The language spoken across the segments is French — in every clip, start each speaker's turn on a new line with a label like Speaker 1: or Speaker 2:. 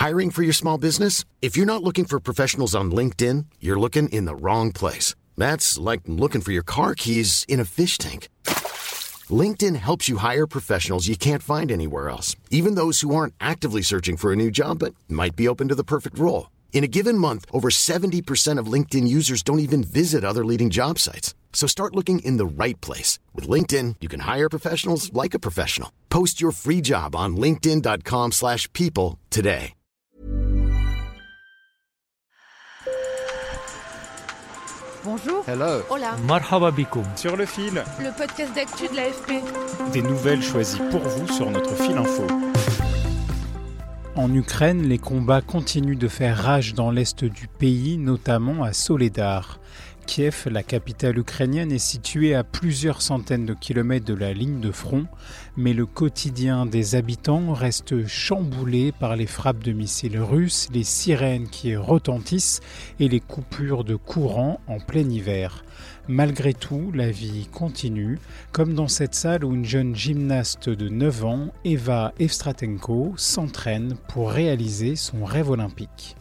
Speaker 1: Hiring for your small business? If you're not looking for professionals on LinkedIn, you're looking in the wrong place. That's like looking for your car keys in a fish tank. LinkedIn helps you hire professionals you can't find anywhere else, even those who aren't actively searching for a new job but might be open to the perfect role. In a given month, over 70% of LinkedIn users don't even visit other leading job sites. So start looking in the right place. With LinkedIn, you can hire professionals like a professional. Post your free job on linkedin.com/people today.
Speaker 2: Bonjour.
Speaker 3: Hello.
Speaker 2: Hola.
Speaker 4: Marhaba bikoum.
Speaker 5: Sur le fil.
Speaker 2: Le podcast d'actu de l'AFP.
Speaker 5: Des nouvelles choisies pour vous sur notre fil info.
Speaker 4: En Ukraine, les combats continuent de faire rage dans l'est du pays, notamment à Soledar. Kiev, la capitale ukrainienne, est située à plusieurs centaines de kilomètres de la ligne de front, mais le quotidien des habitants reste chamboulé par les frappes de missiles russes, les sirènes qui retentissent et les coupures de courant en plein hiver. Malgré tout, la vie continue, comme dans cette salle où une jeune gymnaste de 9 ans, Eva Evstratenko, s'entraîne pour réaliser son rêve olympique.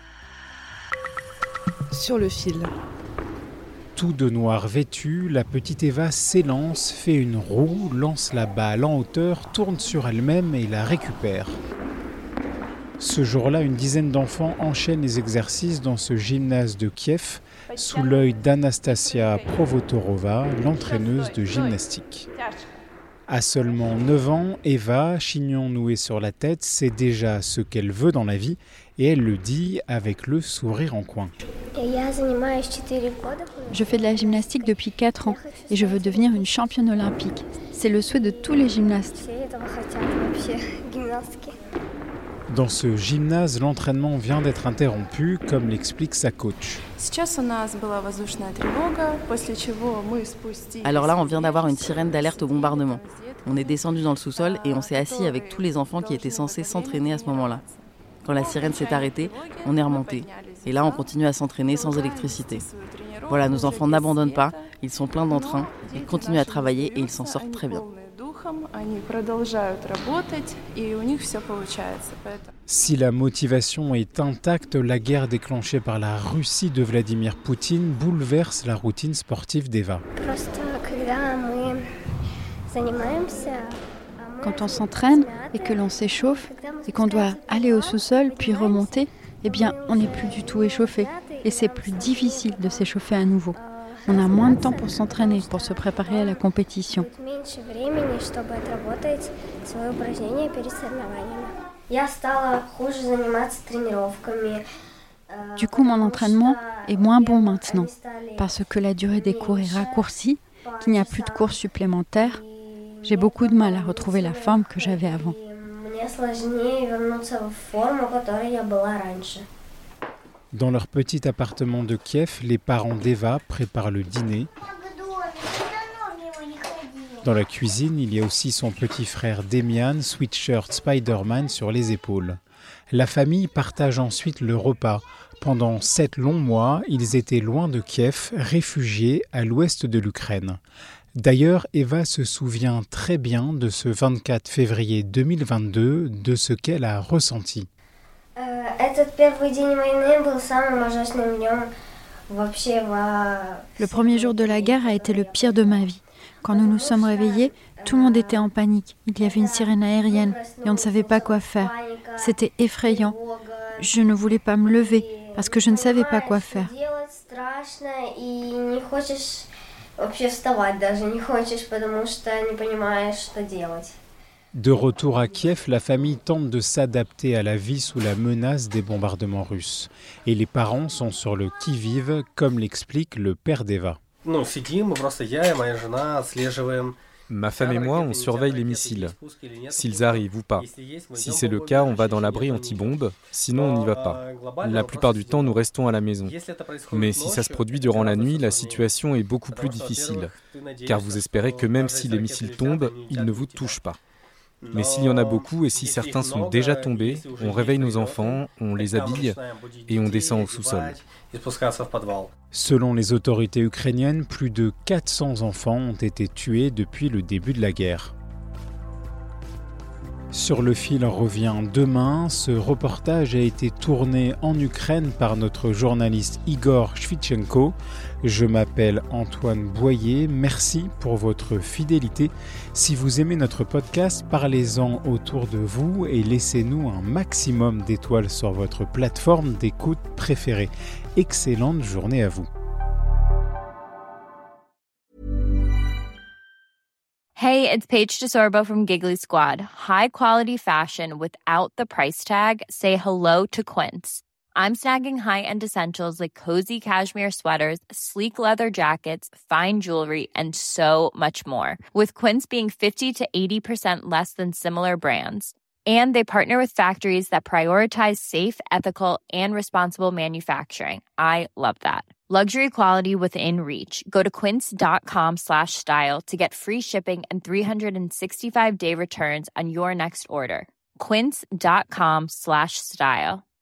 Speaker 2: Sur le fil.
Speaker 4: Tout de noir vêtue, la petite Eva s'élance, fait une roue, lance la balle en hauteur, tourne sur elle-même et la récupère. Ce jour-là, une dizaine d'enfants enchaînent les exercices dans ce gymnase de Kiev, sous l'œil d'Anastasia Provotorova, l'entraîneuse de gymnastique. À seulement 9 ans, Eva, chignon noué sur la tête, sait déjà ce qu'elle veut dans la vie et elle le dit avec le sourire en coin.
Speaker 6: Je fais de la gymnastique depuis 4 ans et je veux devenir une championne olympique. C'est le souhait de tous les gymnastes.
Speaker 4: Dans ce gymnase, l'entraînement vient d'être interrompu, comme l'explique sa coach.
Speaker 7: Alors là, on vient d'avoir une sirène d'alerte au bombardement. On est descendu dans le sous-sol et on s'est assis avec tous les enfants qui étaient censés s'entraîner à ce moment-là. Quand la sirène s'est arrêtée, on est remonté. Et là, on continue à s'entraîner sans électricité. Voilà, nos enfants n'abandonnent pas, ils sont pleins d'entrain, ils continuent à travailler et ils s'en sortent très bien.
Speaker 4: Si la motivation est intacte, la guerre déclenchée par la Russie de Vladimir Poutine bouleverse la routine sportive d'Eva.
Speaker 6: Quand on s'entraîne et que l'on s'échauffe et qu'on doit aller au sous-sol puis remonter, eh bien, on n'est plus du tout échauffé et c'est plus difficile de s'échauffer à nouveau. On a moins de temps pour s'entraîner, pour se préparer à la compétition. Du coup, mon entraînement est moins bon maintenant, parce que la durée des cours est raccourcie, qu'il n'y a plus de cours supplémentaires. J'ai beaucoup de mal à retrouver la forme que j'avais avant.
Speaker 4: Dans leur petit appartement de Kiev, les parents d'Eva préparent le dîner. Dans la cuisine, il y a aussi son petit frère Demian, sweatshirt Spider-Man sur les épaules. La famille partage ensuite le repas. Pendant 7 longs mois, ils étaient loin de Kiev, réfugiés à l'ouest de l'Ukraine. D'ailleurs, Eva se souvient très bien de ce 24 février 2022, de ce qu'elle a ressenti.
Speaker 6: Le premier jour de la guerre a été le pire de ma vie. Quand nous nous sommes réveillés, tout le monde était en panique. Il y avait une sirène aérienne et on ne savait pas quoi faire. C'était effrayant. Je ne voulais pas me lever parce que je ne savais pas quoi faire.
Speaker 4: De retour à Kiev, la famille tente de s'adapter à la vie sous la menace des bombardements russes. Et les parents sont sur le qui-vive, comme l'explique le père d'Eva.
Speaker 3: Ma femme et moi, on surveille les missiles, s'ils arrivent ou pas. Si c'est le cas, on va dans l'abri anti-bombe, sinon on n'y va pas. La plupart du temps, nous restons à la maison. Mais si ça se produit durant la nuit, la situation est beaucoup plus difficile, car vous espérez que même si les missiles tombent, ils ne vous touchent pas. Mais s'il y en a beaucoup et si certains sont déjà tombés, on réveille nos enfants, on les habille et on descend au sous-sol.
Speaker 4: Selon les autorités ukrainiennes, plus de 400 enfants ont été tués depuis le début de la guerre. Sur le fil revient demain. Ce reportage a été tourné en Ukraine par notre journaliste Igor Shvitchenko. Je m'appelle Antoine Boyer. Merci pour votre fidélité. Si vous aimez notre podcast, parlez-en autour de vous et laissez-nous un maximum d'étoiles sur votre plateforme d'écoute préférée. Excellente journée à vous.
Speaker 8: Hey, it's Paige DeSorbo from Giggly Squad. High quality fashion without the price tag. Say hello to Quince. I'm snagging high-end essentials like cozy cashmere sweaters, sleek leather jackets, fine jewelry, and so much more. With Quince being 50 to 80% less than similar brands. And they partner with factories that prioritize safe, ethical, and responsible manufacturing. I love that. Luxury quality within reach. Go to quince.com/style to get free shipping and 365-day returns on your next order. Quince.com/style.